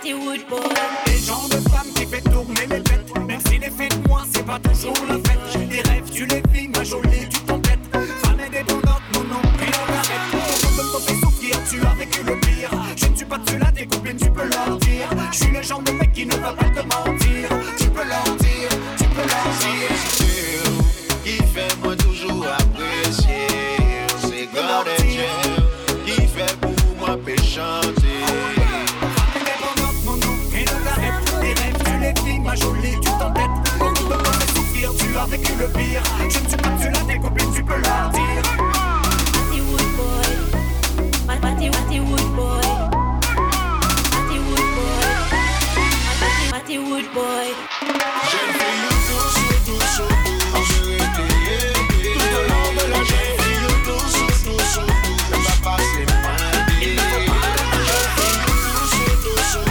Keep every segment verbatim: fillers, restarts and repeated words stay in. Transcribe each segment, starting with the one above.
Les gens de femmes qui fait tourner les bêtes. Même si les faits de moi c'est pas toujours la fête. Des rêves tu les vis, ma jolie tu t'embêtes. Femme indépendante, non non, puis on arrête. Tout le monde me fait souffrir, tu as vécu le pire. Je ne suis pas de ceux-là, tes copines tu peux leur dire. Je suis le genre de mec qui ne va pas te mentir. Tu peux leur dire, tu peux leur dire. Qui fait moi toujours apprécier. C'est God and Jam. Qui fait pour moi péchanter. Ma jolie, tu t'embêtes. Beaucoup de temps fait souffrir, tu as vécu le pire. Je ne suis pas celui-là, tes copines, tu peux leur dire. Matty Wood boy, Matty Matty Wood boy, Matty Wood boy, Matty Matty Wood boy. J'aime faire tout, tout, tout, tout. Je vais t'aider tout au long de la journée. Tout, tout, tout, tout. On va passer ma vie. Je vais tout, tout, tout, tout.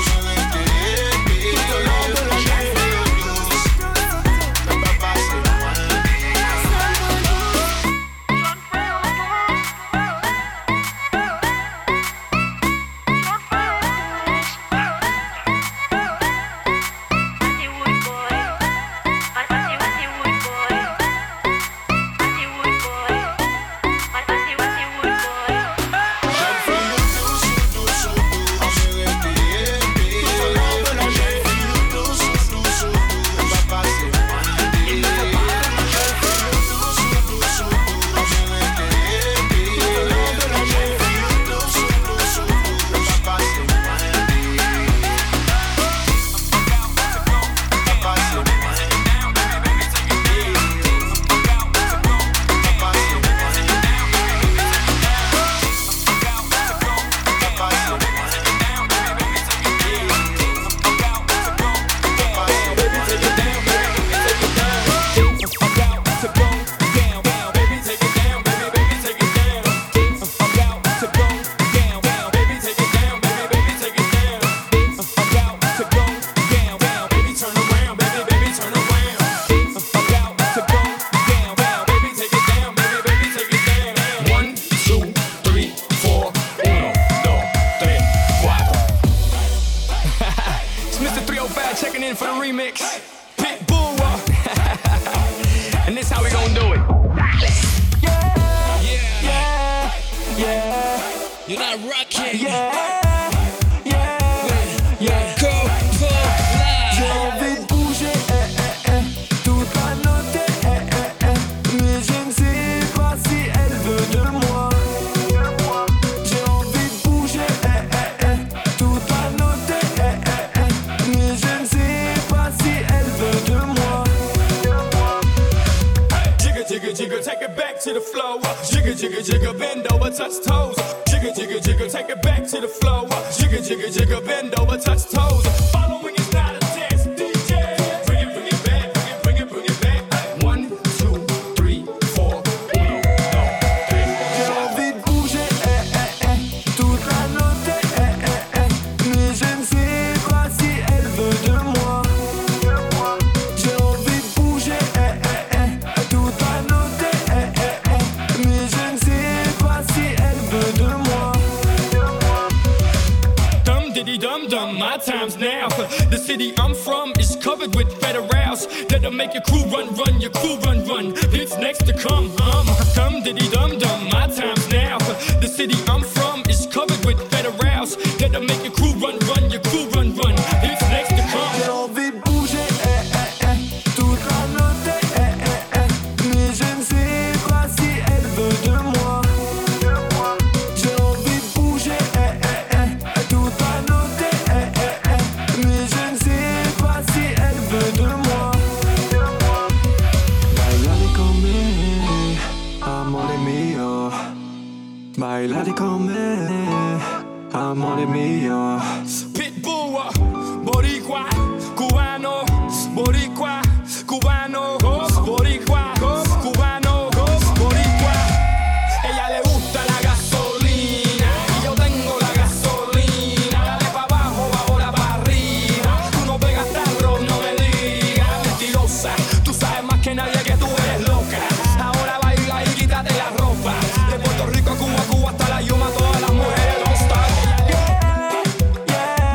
Bailate con me, amore mio. Pitbull, boricua, cubano, boricua, cubano, boricua, cubano, boricua. Ella le gusta la gasolina y yo tengo la gasolina. Dale pa' abajo, ahora pa' arriba. Tú no pegas tarro, no me digas. Mentirosa, tú sabes más que nadie que tú eres loca. Ahora baila y quítate la ropa. De Puerto Rico a Cuba, Cuba hasta la Yuma, todas las mujeres don't stop. Yeah, yeah.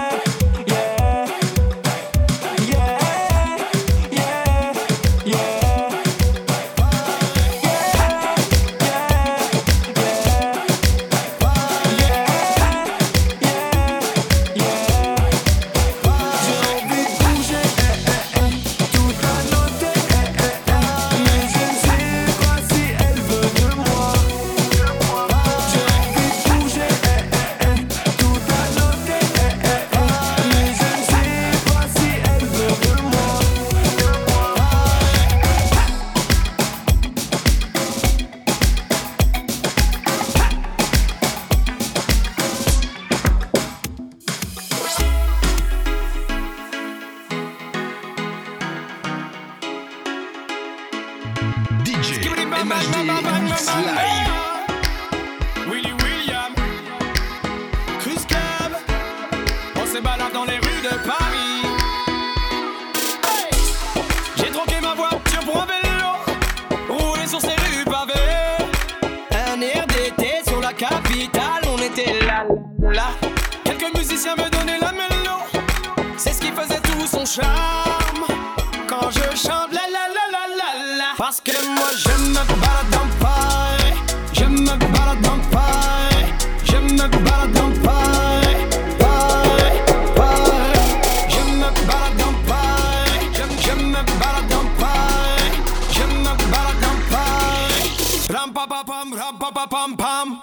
vital, on était là, là. Quelques musiciens me donnaient la mélo. C'est ce qui faisait tout son charme. Quand je chante la la la la la la. Parce que moi je me balade en paille. Je me balade en paille. Je me balade en paille. Paille, paille. Je me balade en paille. Je, je me balade en paille. Je me balade en paille. Ram pa pa pam, ram pa pa pam pam.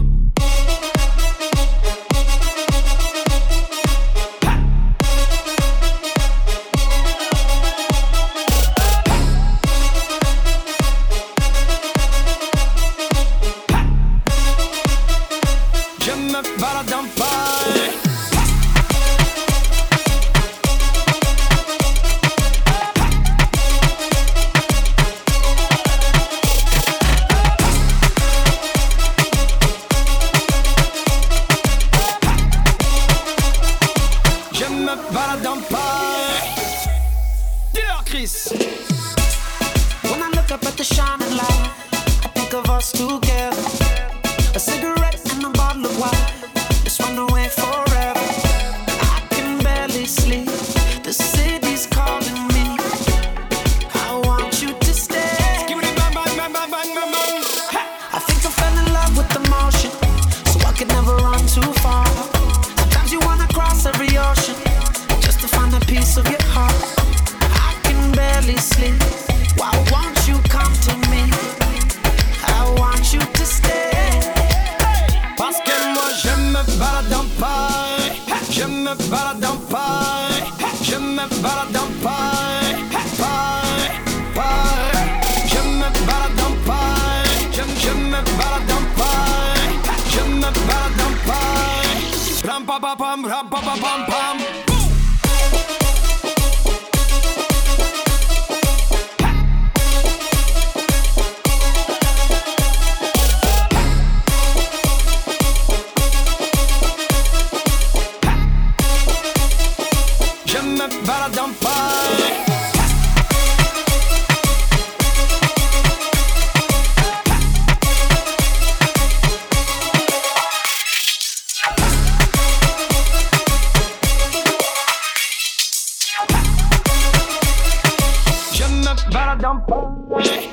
Balade en paille. Je me balade en paille. Dis-leur Chris. When I look up at the shining light, I think of us together. A cigarette and a bottle of wine. Just run away forever. I can barely sleep. The city's calling me. I want you to stay. I think I fell in love with the motion, so I could never run too far. Sometimes you wanna cross every ocean just to find a piece of your heart. I can barely sleep. Why won't you come to me? I want you to stay. Parce que moi je me balade en paille. Je me balade en paille. Je me balade en paille. Paille, paille. Je me balade en paille. Je, je me balade en paille. Je me balade en paille. Ram pa pa pam, ram pa pa pam pam. Balade en paille. Je me balade en paille.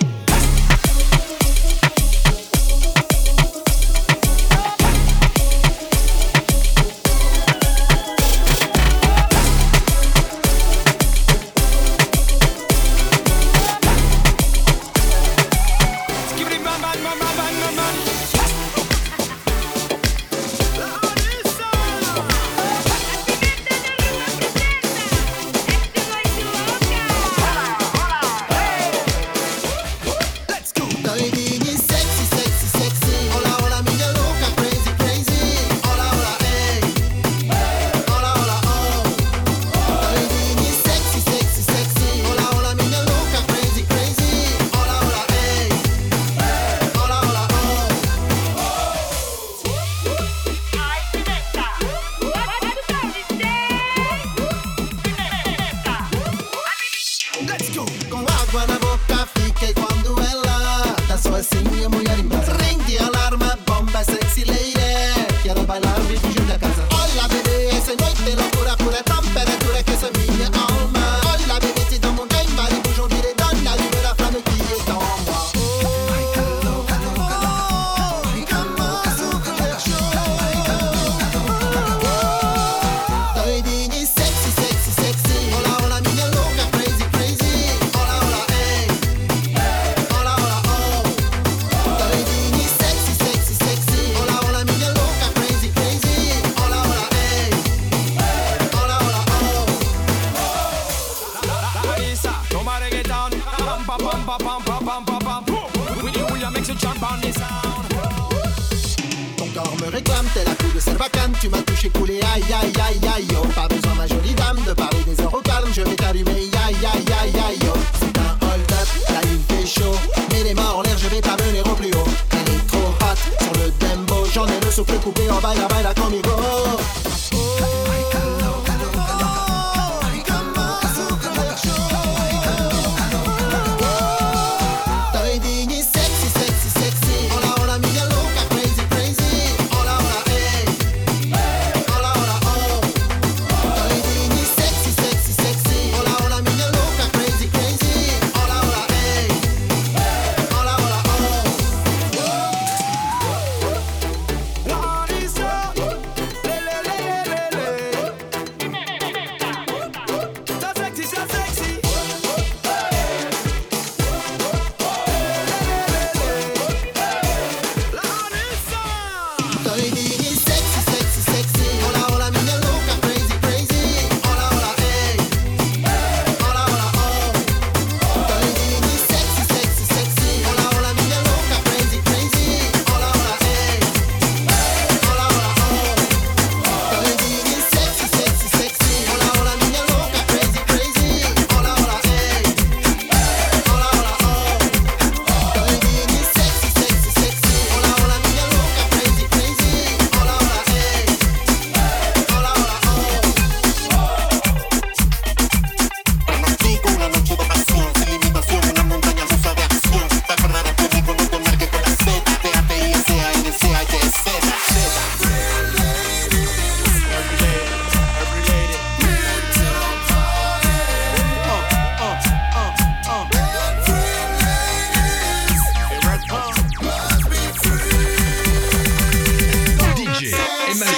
Tu m'as touché, coulé, aïe aïe aïe aïe yo. Pas besoin ma jolie dame de parler des heures au calme. Je vais t'allumer, aïe aïe aïe aïe yo. C'est un hold up, la lune fait chaud. Mets les mains en l'air, je vais t'amener au plus haut. Elle est trop hot sur le dembo. J'en ai le souffle coupé en baila baila conmigo. Sexy, sexy, sexy. Hola, hola, mi loca, crazy, crazy.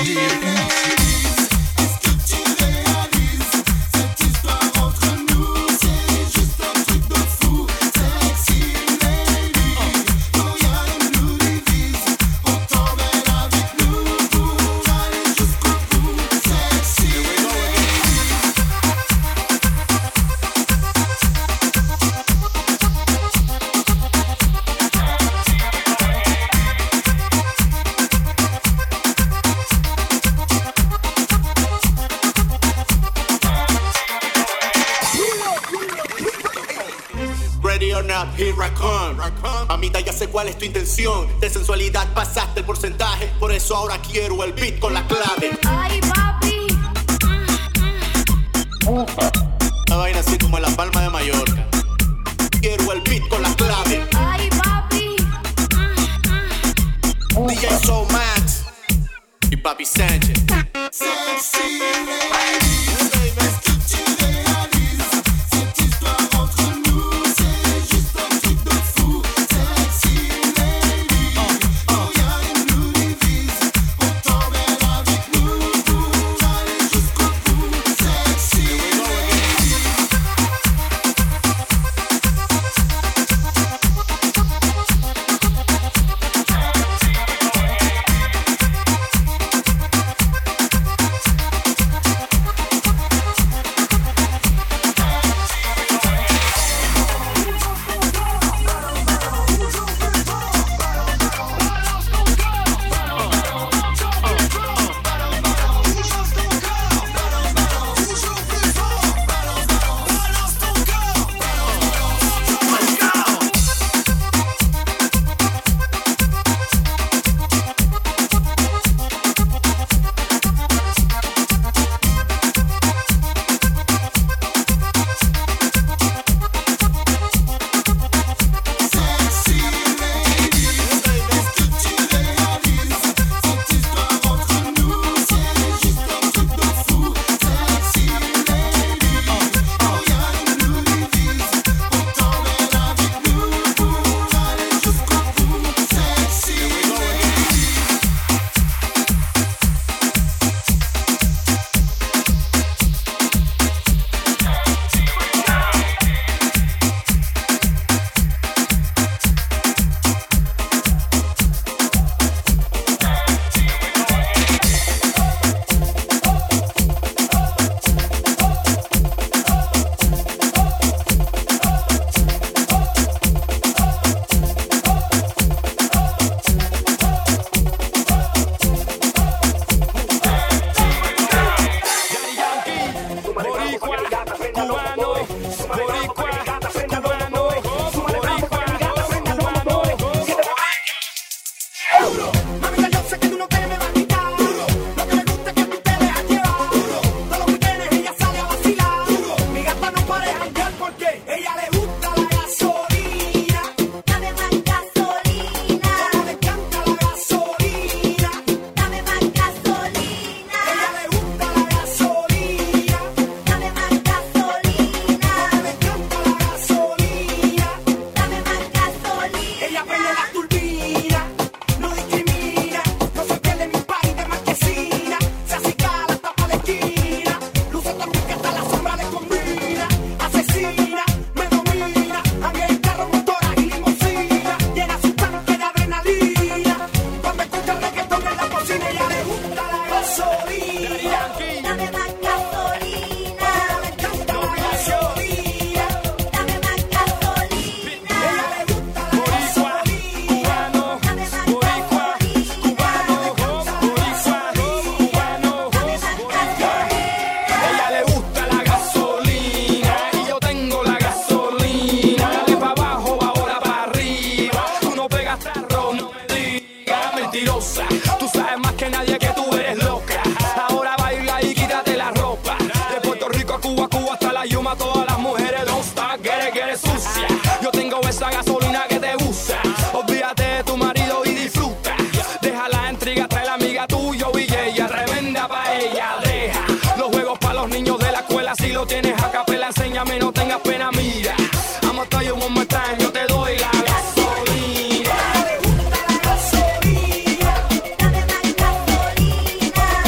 ¿Cuál es tu intención? De sensualidad pasaste el porcentaje, por eso ahora quiero el beat con la clave. Ay, papi. Una vaina así como en la Palma de Mallorca. Quiero el beat con la clave. Ay, papi. D J Soul Max y Papi Sánchez. Sexy lady, est-ce que tu réalises cette histoire entre nous? C'est juste un truc de fou. Sexy lady, oh y'a une nous divise. On t'emmène avec nous pour aller jusqu'au bout. Sexy lady. Dame más gasolina.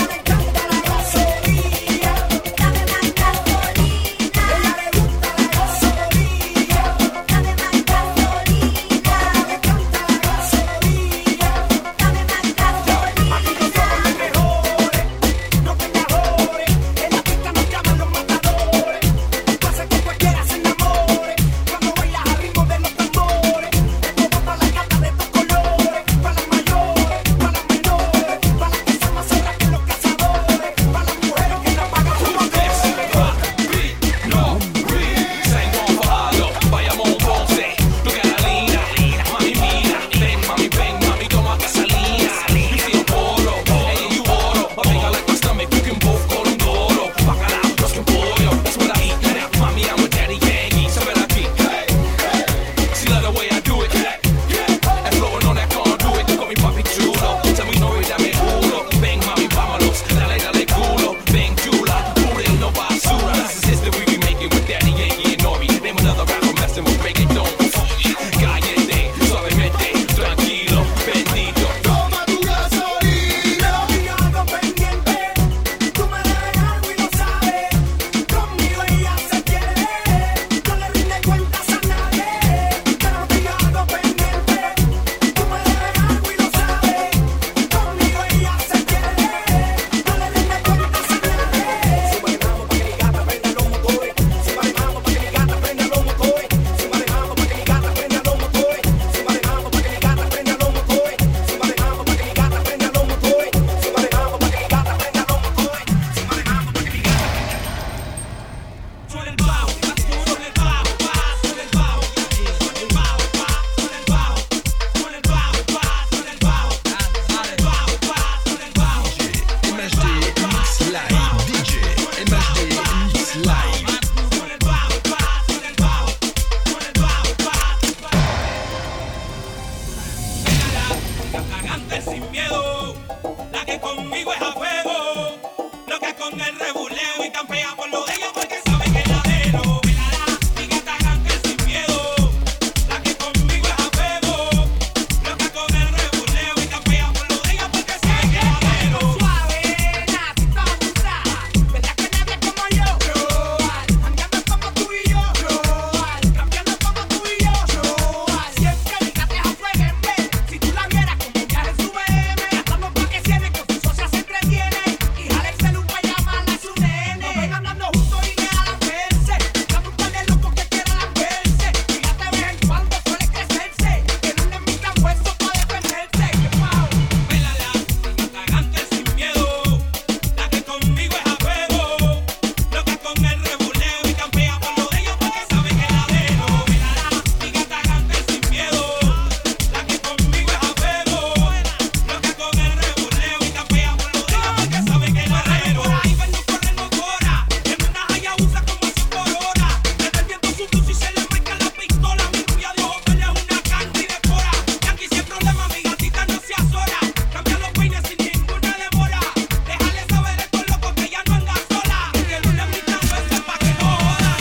miedo, la que conmigo es a fuego, loca con el rebuleo y campea por lo de ella porque sabe que es la de lo. Velará, y que te hagan que sin miedo, la que conmigo es a fuego, loca con el rebuleo y campea por lo de ella porque sabe que es la de lo. Suave, nacito abusada, ¿verdad que nadie como yo? Andando como tú y yo, cambiando como tú y yo. Siempre dígate a fuego en vez, si tú la vieras como un viaje en su B M. Gastamos pa' que cierre, con su socia se entretiene y jale el celu pa' llamarla a su nene. Nos ven andando juntos y dejan verse, dame un par de locos que quieran verse. Fíjate de vez en cuando suele crecerse, que no es mi campo eso pa' defenderse. Que wow. Vélala, y que te hagan que sin miedo, la que conmigo es a fuego, loca con el rebuleo y campea por lo de ella porque sabe que es la de lo. Vélala, y que te hagan que sin miedo, la que conmigo es a fuego, loca con el rebuleo y campea por lo de ella porque sabe que es la de lo. Por ahí vernos correr motora, en una Hayabusa como cien por hora, desde el viento su blues y se le marca la pistola. Mi rubia de ojos verdes es una candy de cora, Yankee sin problema, mi gatita no se azora, cambia los peines sin ninguna demora, déjale saber a estos locos que ya no anda sola, que no le invitan veces pa' que no jodan.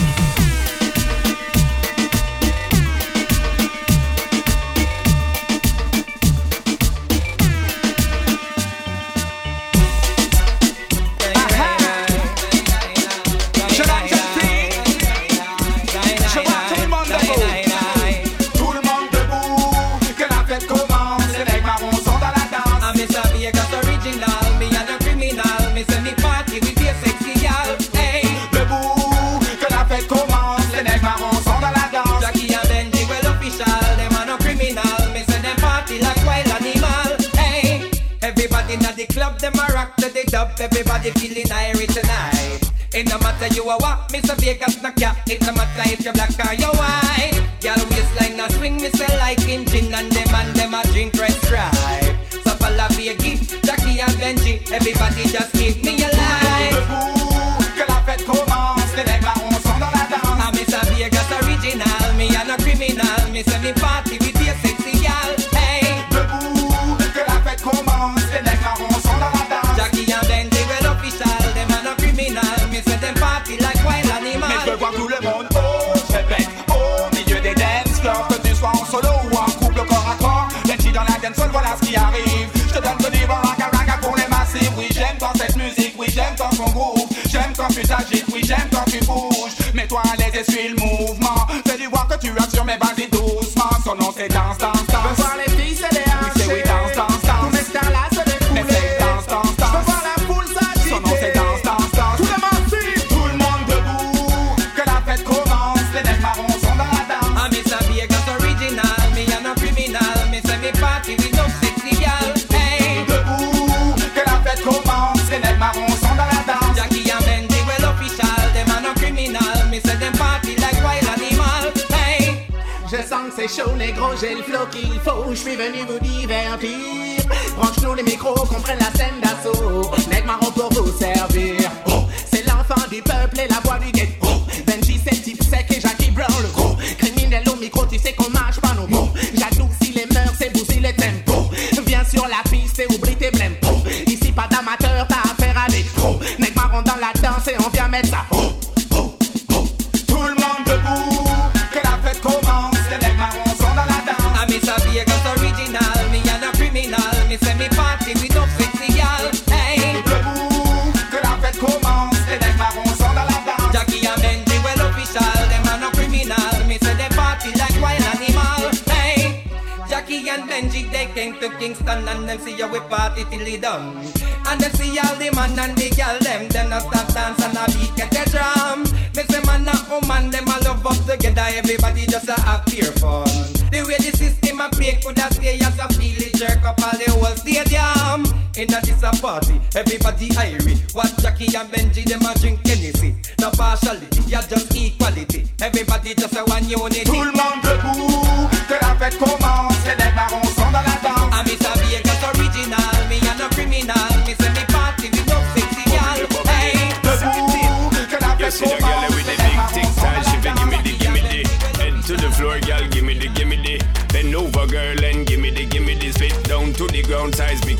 Tout le monde debout, que la fête commence. Les nègres marrons sont dans la danse. I'm Mister Vegas original, me and a criminal. Me send me party with a sexy gal. Hey, Debout, que la fête commence. Les nègres marrons sont dans la danse. Jackie and Benji well official. Them are no criminal. Me send them party like wild animal. Hey, everybody in the club, them a rock to the dub. Everybody feeling Irish tonight. It no matter you a what, Mister Vegas knock ya. It no matter if you black or you white. Girl waistline a swing, me say like in gin and them and them a drink red stripe. So follow Vegas, Jackie and Benji, everybody just give me a light. Debout, que la fête commence. Les nègres marrons sont dans la danse. I'm Mister Vegas original, me and a criminal. Me say me party with a sexy gal. Hey, Debout, que la fête commence. Les nègres marrons sont dans la danse. Jackie and Benji well official, them are no criminal. Me say them party like wild Mais je veux animal. voir tout le monde, oh, je répète, au milieu des dance floors, que tu sois en solo ou en couple corps à corps. Benji dans la dance hall, voilà ce qui arrive. Je te donne ce niveau raga raga pour les massifs. Oui, j'aime quand cette musique, oui, j'aime quand son groove. J'aime quand tu t'agites, oui, j'aime quand tu bouges. Mets-toi à l'aise et suis le mouvement. Fais-lui voir que tu assures, mais vas-y doucement. Son nom c'est danse, danse, danse. Je veux voir les filles se Oui, c'est oui, danse, danse, Tous danse. mes stars là se Mais défouler. c'est danse, danse, Je veux danse. voir la foule s'agiter. Son nom c'est danse, danse, danse. Tout le monde suit. Tout le monde debout, que la fête commence. Les nègres marrons sont dans la danse. I'm Mister Vegas original, me and a criminal. Me say me party with no sexy gal. Hey, Debout, que la fête commence. Les nègres marrons sont dans la danse. Jackie and Benji well official, them are no criminal. Me say them party like wild animal. Hey, Je sens que c'est chaud, négro, j'ai le flow qu'il faut. Je suis venu vous divertir. Branche-nous les micros, qu'on prenne la scène d'assaut. Nègre marron pour vous servir. Oh, c'est l'enfant du peuple et la voix du ghetto. Benji, c'est le type sec et Jackie Brown, le gros. Criminel au micro, tu sais qu'on marche pas nos mots. J'adoucis les mœurs et bousille les tempos. Viens sur la piste et oublie tes blèmes. Oh, ici pas d'amateur, t'as affaire à des pros. Nègre marron dans la danse et on vient mettre ça. Oh, oh, oh. Tout le monde debout, que la fête commence. Les nègres marrons sont dans la danse. I'm Mister Vegas original, me and a criminal. Me say me party with no sexy gal. Hey, Debout, que la fête commence. Les nègres marrons sont dans la danse. Jackie and Benji well official, them are no criminal. Me say they party like wild animal. Hey, Jackie and Benji they came to Kingston and them see how we party till they done. And them see all the man and the girl them, them not stop dance and a beat get the drum. Me say man and woman them all love up together, everybody just a have pure fun. The way the system a play could a stay as a feel it jerk up all the whole stadium. In a this a party, everybody irie. Watch Jackie and Benji them a drink Hennessy. No partiality, yeah just equality. Everybody just a one unity. Tout le monde debout, que la fête commence. Les nègres marrons sont dans la danse. I'm Mister Vegas original, me and no criminal. Me say me party with no sexy gal. Hey, Debout, que la You fête see the girl commence. with the big thing style, she been give me the, give me the. Head to the floor, girl, give me the, give me the. Bend over, girl, and give me the, give me the. Spit down to the ground, size big active.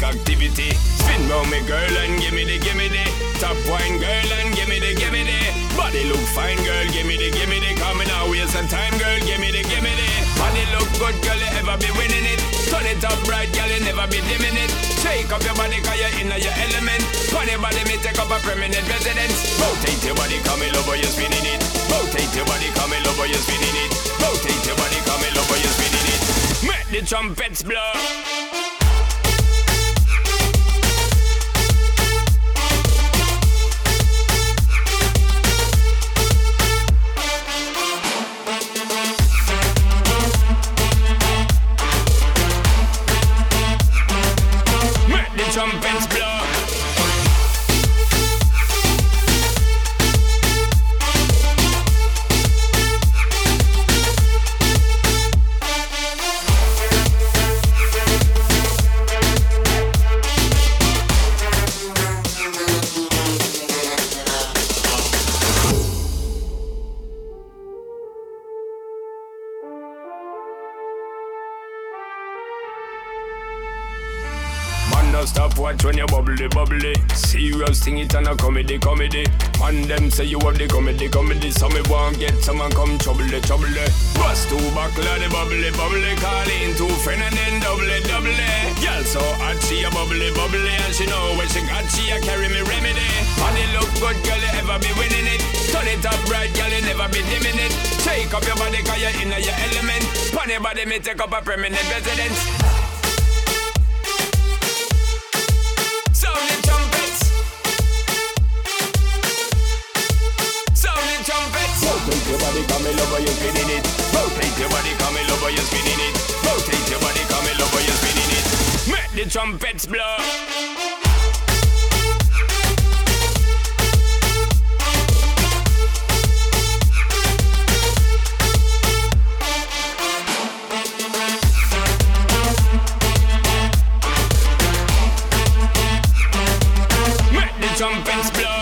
activity. Spin round me girl and give me the, give me the. Top wine girl and give me the, give me the. Body look fine girl, give me the, give me the. Coming out waste some time girl, give me the, give me the. Body look good girl, you ever be winning it. Turn it up bright girl, you never be dimming it. Shake up your body cause you're in your element. Funny body me take up a permanent residence. Rotate your body, come in over, you're spinning it. Rotate your body, come in over, you're spinning it. Rotate your body, come in over, you're spinning it. Make the trumpets blow. Trumpets blow. Stop watch when you bubbly, bubbly. Serious thing, it and a comedy, comedy. Man, them say you have the comedy, comedy. So me won't get someone come trouble, trouble. Bust two buckle of the bubbly, bubbly. Call in two friend and then double, double. Girl so hot, she a bubbly, bubbly. And she know when she got, she a carry me remedy. Body look good, girl, you ever be winning it. Turn it up bright, girl, you never be dimming it. Shake up your body, cause you're in your element. Funny body, me take up a permanent residence. Sound the trumpets. Sound the trumpets. Rotate your body, come in over, you're spinning it. Rotate your body, come in over, you're spinning it. Rotate your body, come in over, you're spinning it. Make the trumpets blow. Trumpets blow.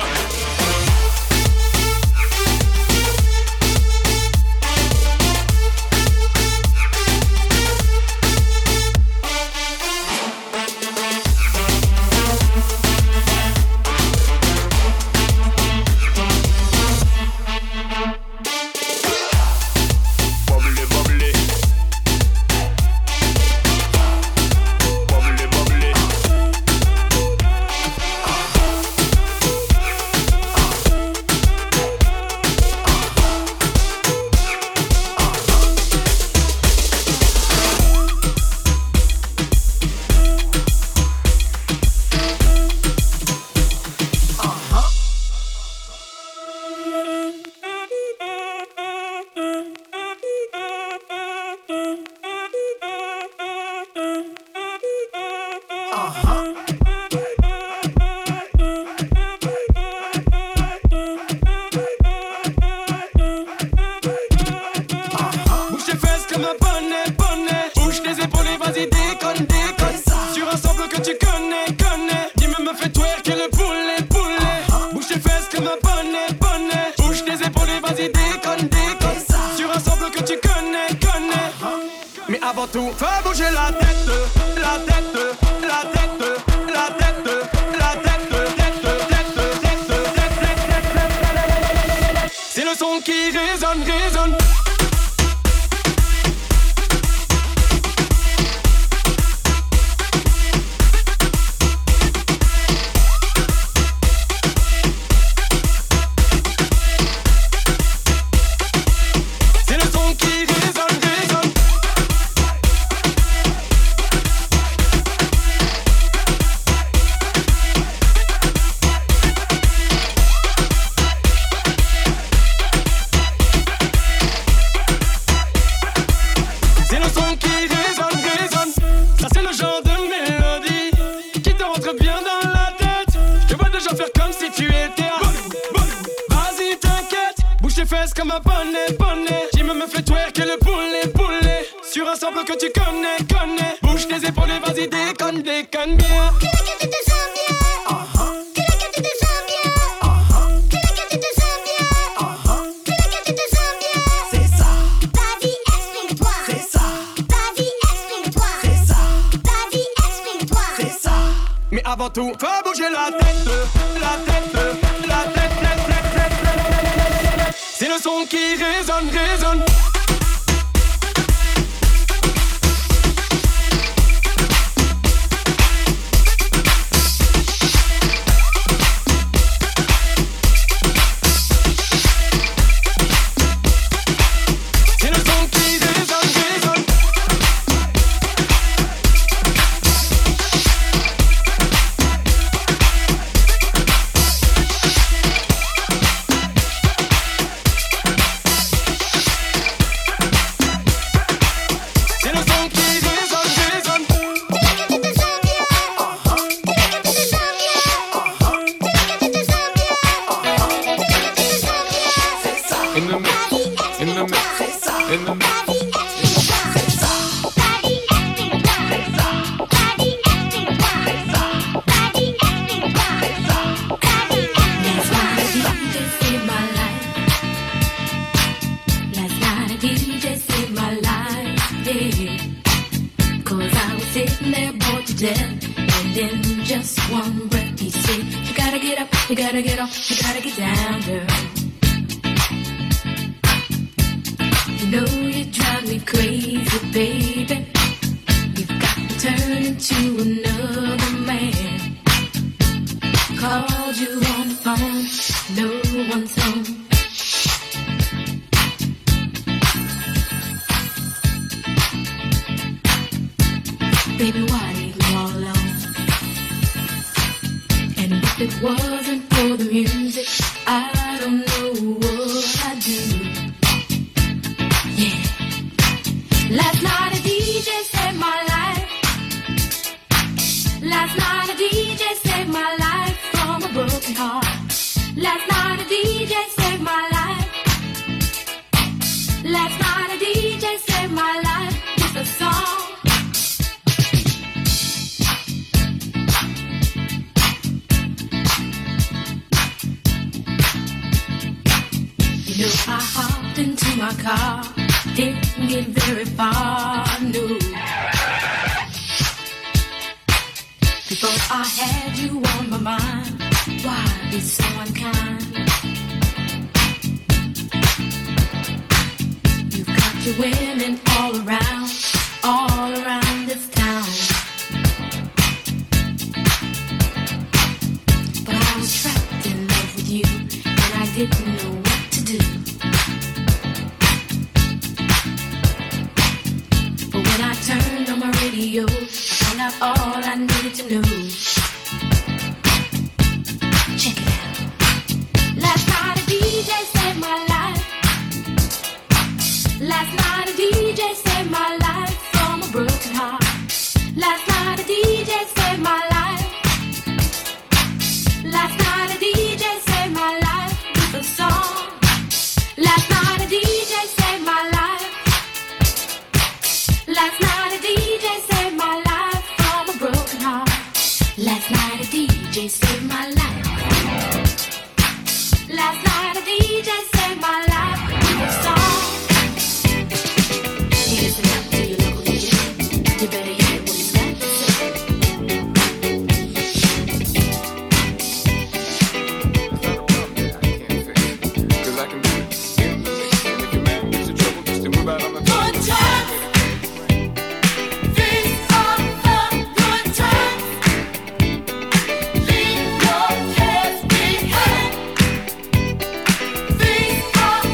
Comme un bonnet, bonnet. Qui me me fait twerker le poulet, poulet. Sur un sample que tu connais, connais. Bouge tes épaules et vas-y déconne, déconne bien. Que la que tu te sens bien. Uh-huh. Que la que tu te sens bien. Uh-huh. Que la que tu te sens bien. Uh-huh. Que la que tu te sens bien. C'est ça. Vas-y, explique-toi. C'est ça. Vas-y, explique-toi. C'est ça. Vas-y, explique-toi. C'est ça. Mais avant tout, faut bouger la tête, la tête, la tête, tête, tête, tête, tête. C'est le son qui résonne, résonne. These are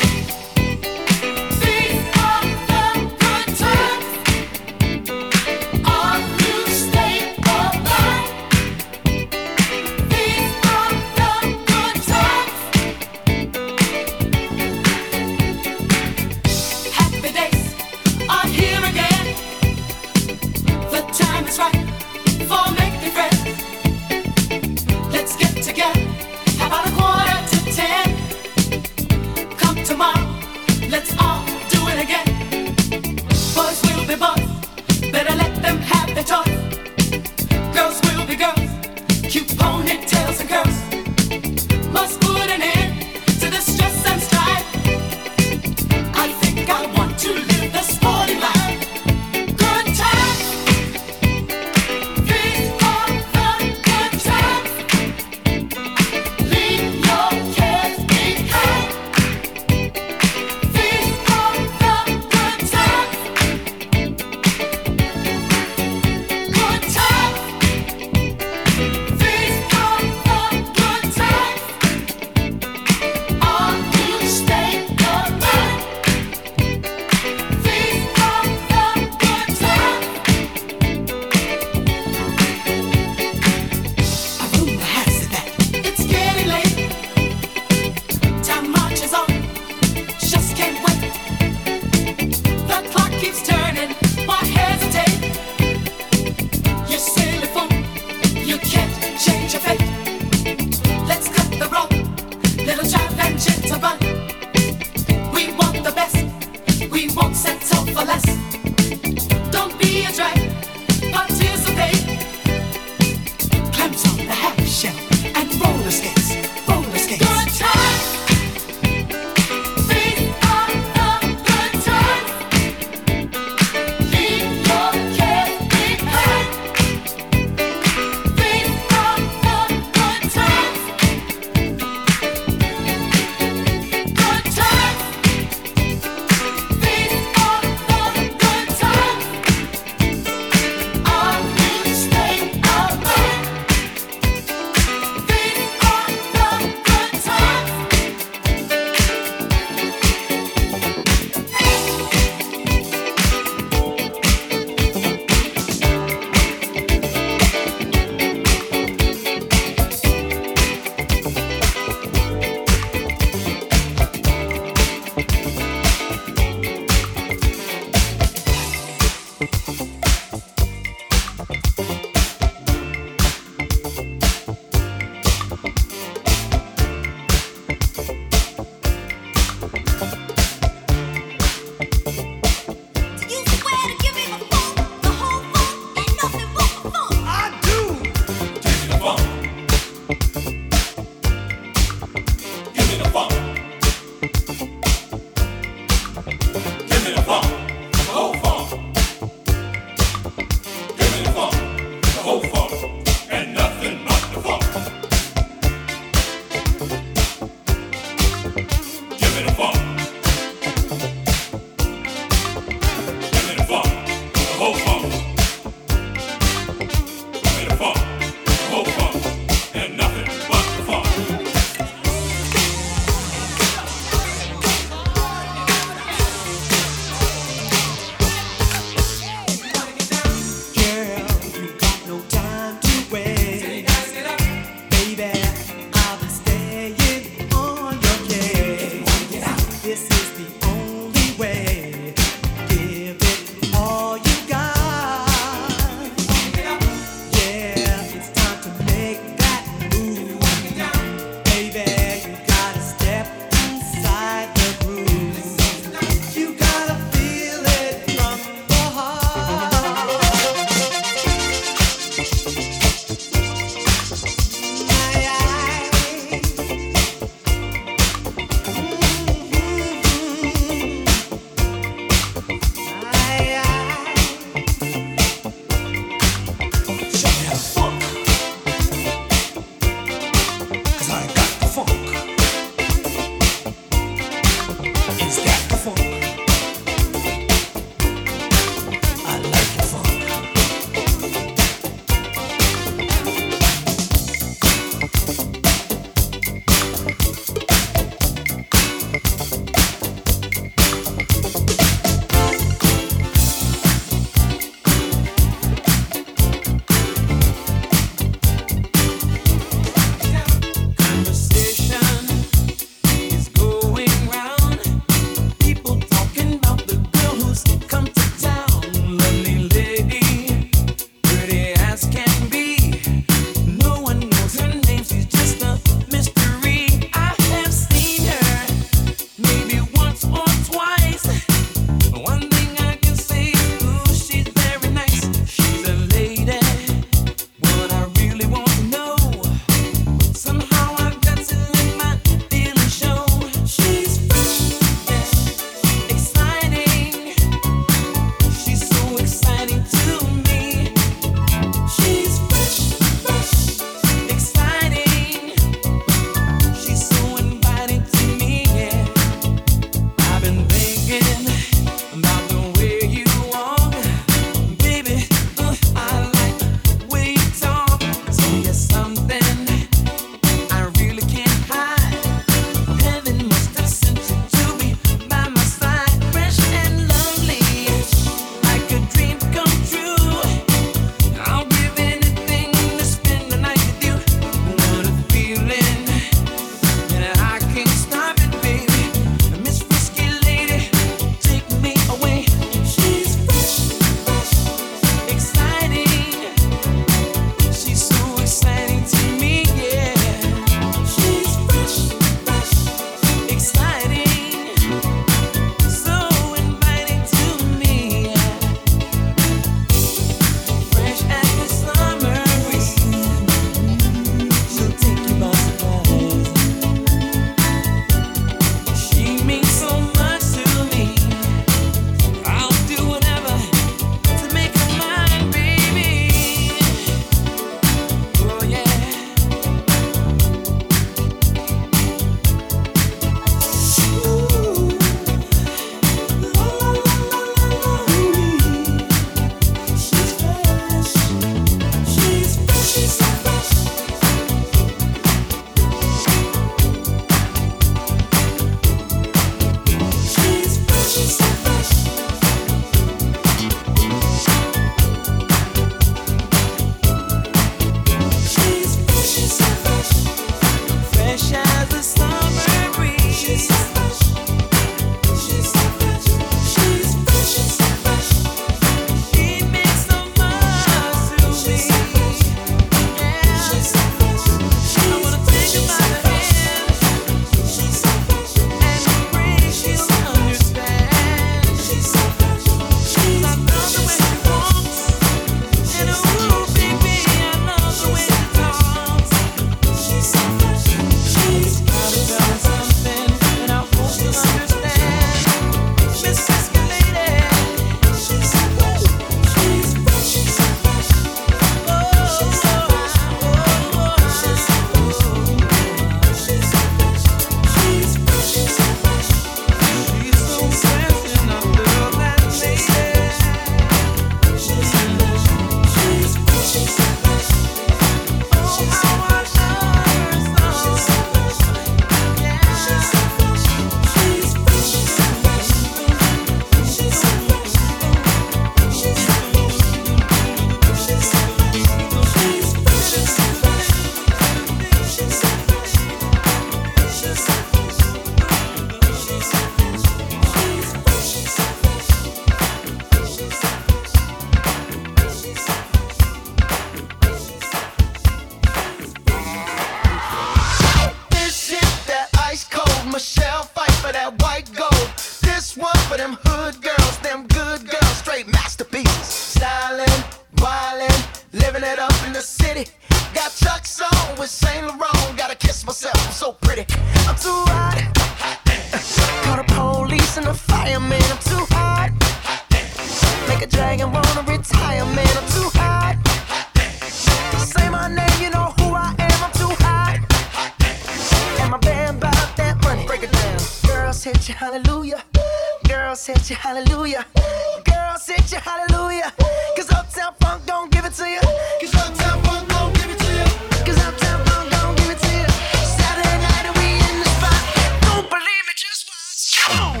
dragon, wanna retire, man, I'm too hot. Say my name, you know who I am, I'm too hot. And my band bought that money, break it down. Girls hit you, hallelujah. Girls hit you, hallelujah. Girls hit you, hallelujah. Cause Uptown Funk don't give it to you. Cause Uptown Funk don't give it to you. Cause Uptown Funk don't give it to you. Saturday night and we in the spot. Don't believe me, just watch. Come on.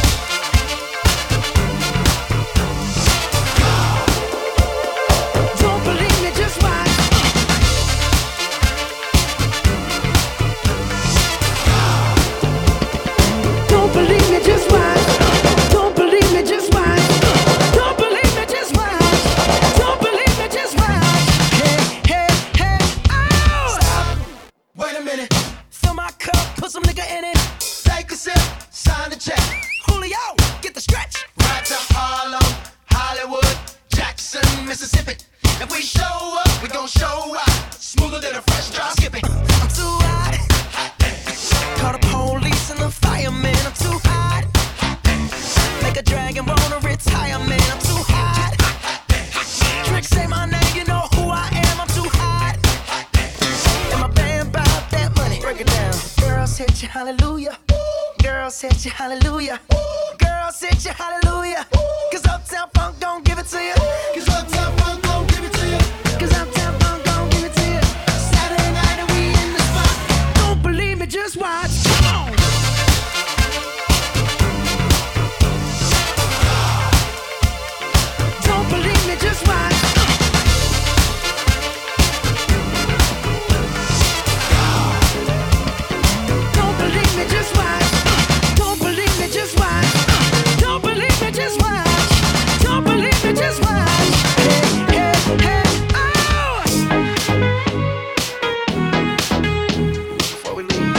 Don't believe me, just watch. Don't believe me, just watch. Don't believe me, just watch. Don't believe me, just watch. Don't believe me, just watch. Hey, hey, hey, oh! Stop. Wait a minute. Fill my cup, put some nigga in it. Take a sip, sign the check. Julio, get the stretch. Right to Harlem, Hollywood, Jackson, Mississippi. If we show up, we gon' show out. Smoother than a fresh drop skipping. I'm too hot. Call the police and the fireman. I'm too hot. Make a dragon wanna retire, man. I'm too hot. Tricks say my name, you know who I am. I'm too hot. And my band bought that money. Break it down. Girls hit you, hallelujah. Girls hit you, hallelujah. Girls hit you, hallelujah. Cause Uptown Funk don't give it to you. Cause Uptown Funk don't give it to you. Cause Uptown Funk don't give it to you. Saturday night and we in the spot. Don't believe me, just watch. Come on. Don't believe me, just watch. Don't believe me, just watch. Don't believe me, just watch. Don't believe me, just watch. Don't believe me, just watch. Hey, hey, hey, oh! Before we leave,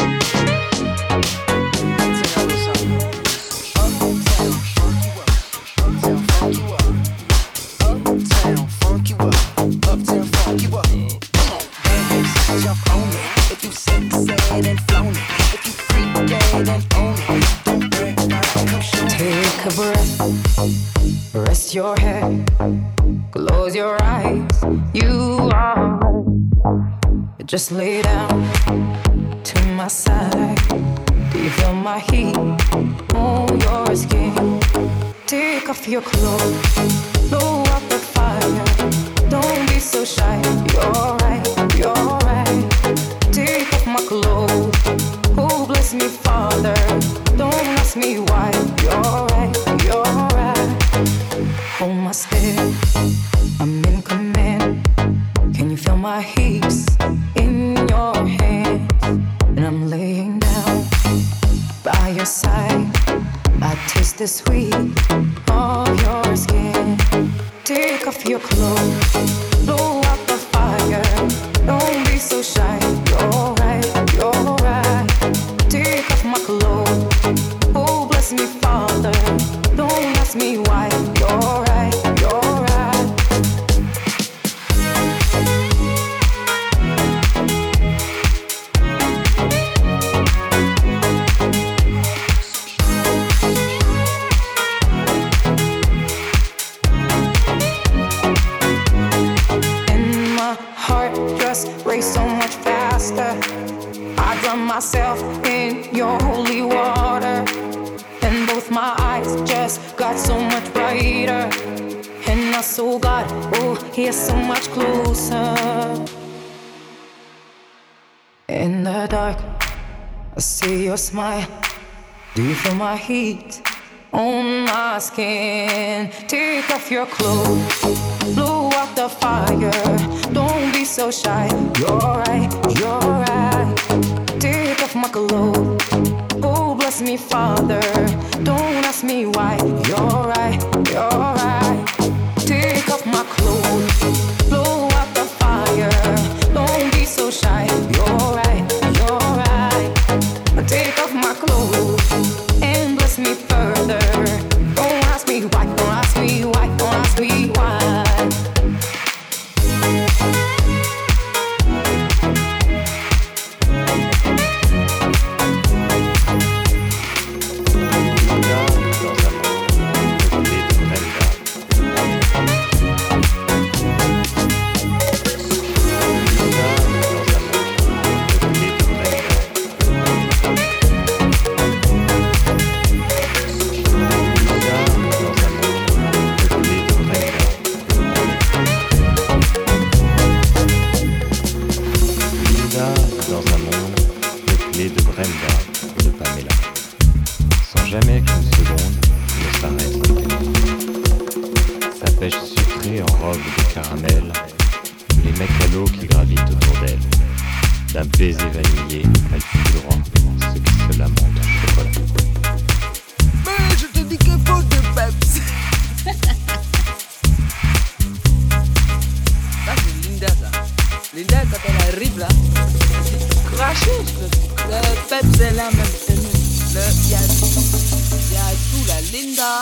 I'll tell y'all a little something. Uptown, funk you up. Uptown, funk you up. Uptown, funk you up. Uptown, funk you up. Come on, dance, jump on it. If you sick, sad and flown it. If you freak dead and own it. Don't break down, come show me. Take a breath, rest your head, close your eyes. You are right. Just lay down to my side. Do you feel my heat on your skin? Take off your clothes, blow up the fire. Don't be so shy. You're right, you're right. Take off my clothes. Oh, bless me, Father. Don't ask me why. You're right, you're right. Hold my step, I'm in command. Can you feel my hips in your hands? And I'm laying down by your side. I taste the sweet of your skin. Take off your clothes, blow out the fire. Don't be so shy. You're right, you're right. Take off my clothes. Oh, bless me, Father. Don't ask me why. You're right, you're right. And my heart just raced so much faster. I drown myself in your holy water. And both my eyes just got so much brighter. And I saw God, oh, He is so much closer. In the dark, I see your smile. Do you feel my heat on my skin? Take off your clothes, blow out the fire. Don't be so shy. You're right, you're right. Take off my clothes. Oh, bless me, Father. Don't ask me why. You're right, you're right. Take off my clothes, blow out the fire. Don't be so shy. You're right, you're right. Take off my clothes and bless me further. Don't ask me why, don't ask me why, don't ask me why. Dans un monde de pêche sucrée en robe de caramel, les mecs à l'eau qui gravitent autour d'elle. D'un baiser vanillé, elle fut droit, ce qui se lamente en chocolat. Mais je te dis qu'il faut de peps. Ça c'est Linda ça. Linda quand elle arrive là, c'est craché. Le peps est là même. Il y a tout, il y a tout là. Linda.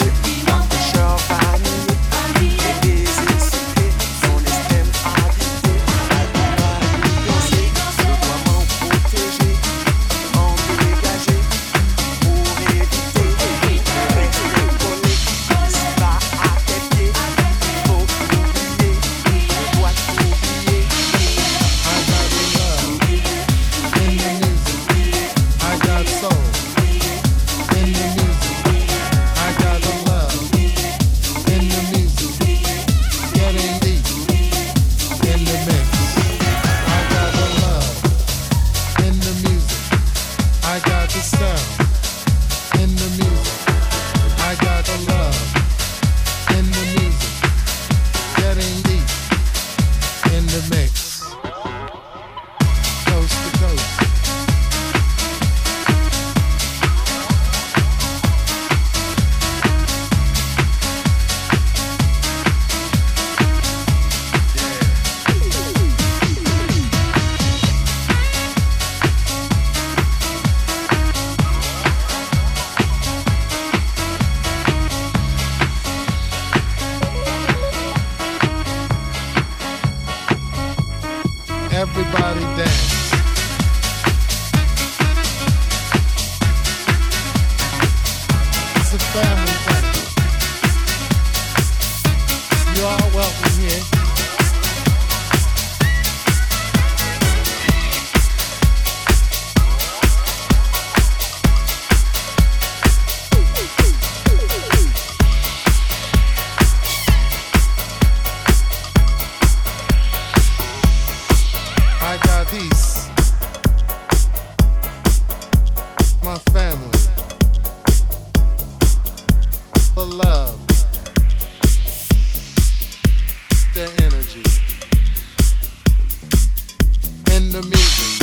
Vanille, et baiser sucré, son estime habité. Everybody dance. It's a family thing. You are welcome here. I got peace. My family. The love. The energy. And the music.